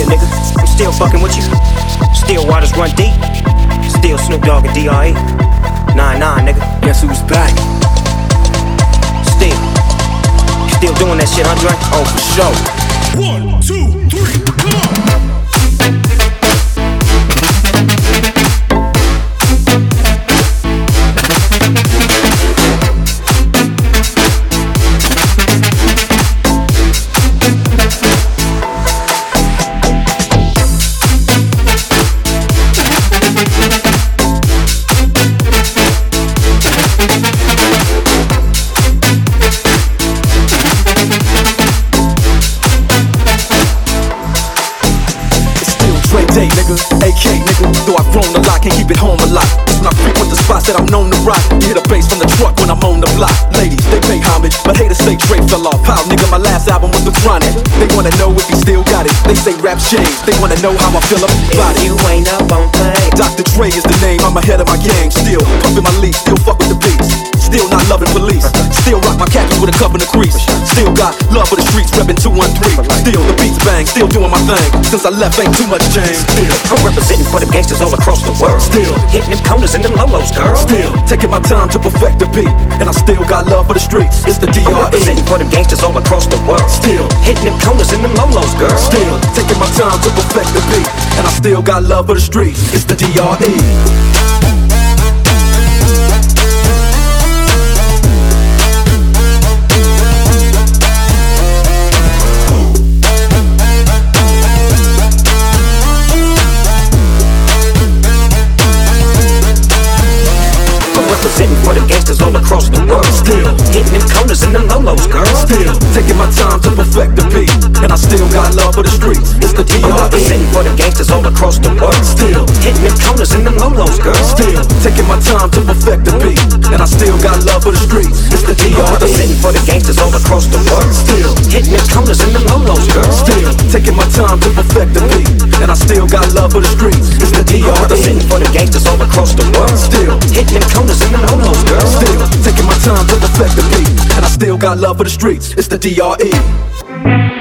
nigga. I'm still fucking with you. Still waters run deep. Still Snoop Dogg and D.R.E. 9-9, nigga. Guess who's back? Still doing that shit, Andre? Oh, for sure. 1, 2, 3, come on! Day, nigga, AK, nigga. Though I've grown a lot, can't keep it home a lot. It's when I frequent the spots that I'm known to rock. You hear the bass from the truck when I'm on the block. Ladies, they pay homage, but haters say Dre fell off. How, nigga, my last album was The Chronic. They wanna know if he still got it. They say rap changed. They wanna know how I feel about it. You ain't up on play. Dr. Dre is the name, I'm ahead of my game. Still pumping my leaf, still fuck with the beats. Still not loving police. Still rock my khakis with a cup in the crease. Still got love for the streets, reppin' 213. Still the beats bang, still doing my thing. Since I left, ain't too much change. Still, I'm representing for them gangsters all across the world. Still hitting them corners and them lolos, girl. Still taking my time to perfect the beat, and I still got love for the streets. It's the D.R.E. I'm representing for them gangsters all across the world. Still hitting them corners and them lolos, girl. Still taking my time to perfect the beat, and I still got love for the streets. It's the D.R.E. For the gangsters all across the world. Still hitting them corners and them lolos, girl. Still taking my time to perfect the beat, and I still got love for the streets. It's the D.R.E. I'm representing for the gangsters all across the world. Still hitting them corners and them lolos, girl. Still taking my time to perfect the beat, and I still got love for the streets. It's the D.R.E. I'm representing for the gangsters all across the world. Still hitting them corners and them lolos, girl. Still taking my time to perfect the beat, and I still got love for the streets. It's the D.R.E. I'm representing for the gangsters all across the world. Still hitting them corners and them lolos, girl. Still taking my time to perfect the beat, and I still got love for the streets. It's the D.R.E.